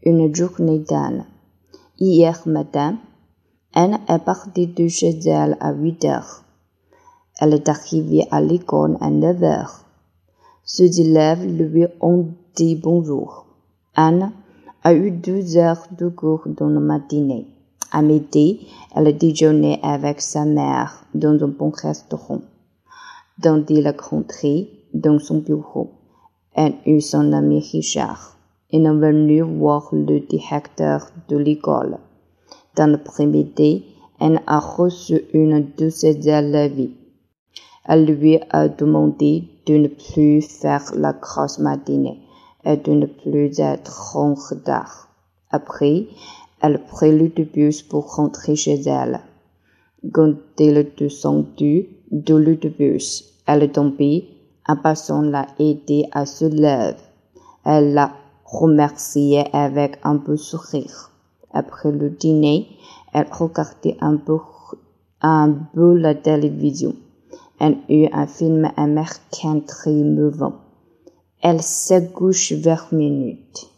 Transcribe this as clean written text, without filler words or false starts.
une journée d'Anne. Hier matin, Anne est partie de chez elle à 8 heures. Elle est arrivée à l'école à 9 heures. Ses élèves lui ont dit bonjour. Anne a eu 2 heures de cours dans la matinée. À midi, elle a déjeuné avec sa mère dans un bon restaurant. Dont il est rentré dans son bureau. Elle eut son ami Richard. Il est venu voir le directeur de l'école. Dans l'après-midi, Anne a reçu une de ses élèves. Elle lui a demandé de ne plus faire la grosse matinée et de ne plus être en retard. Après, elle prit le bus pour rentrer chez elle. Quand elle est descendue de l'autobus, elle est tombée. Un passant l'a aidée à se lever. Elle l'a remercié avec un beau sourire. Après le dîner, elle regardait un peu la télévision. Elle eut un film américain très émouvant. Elle s'est couchée vers minuit.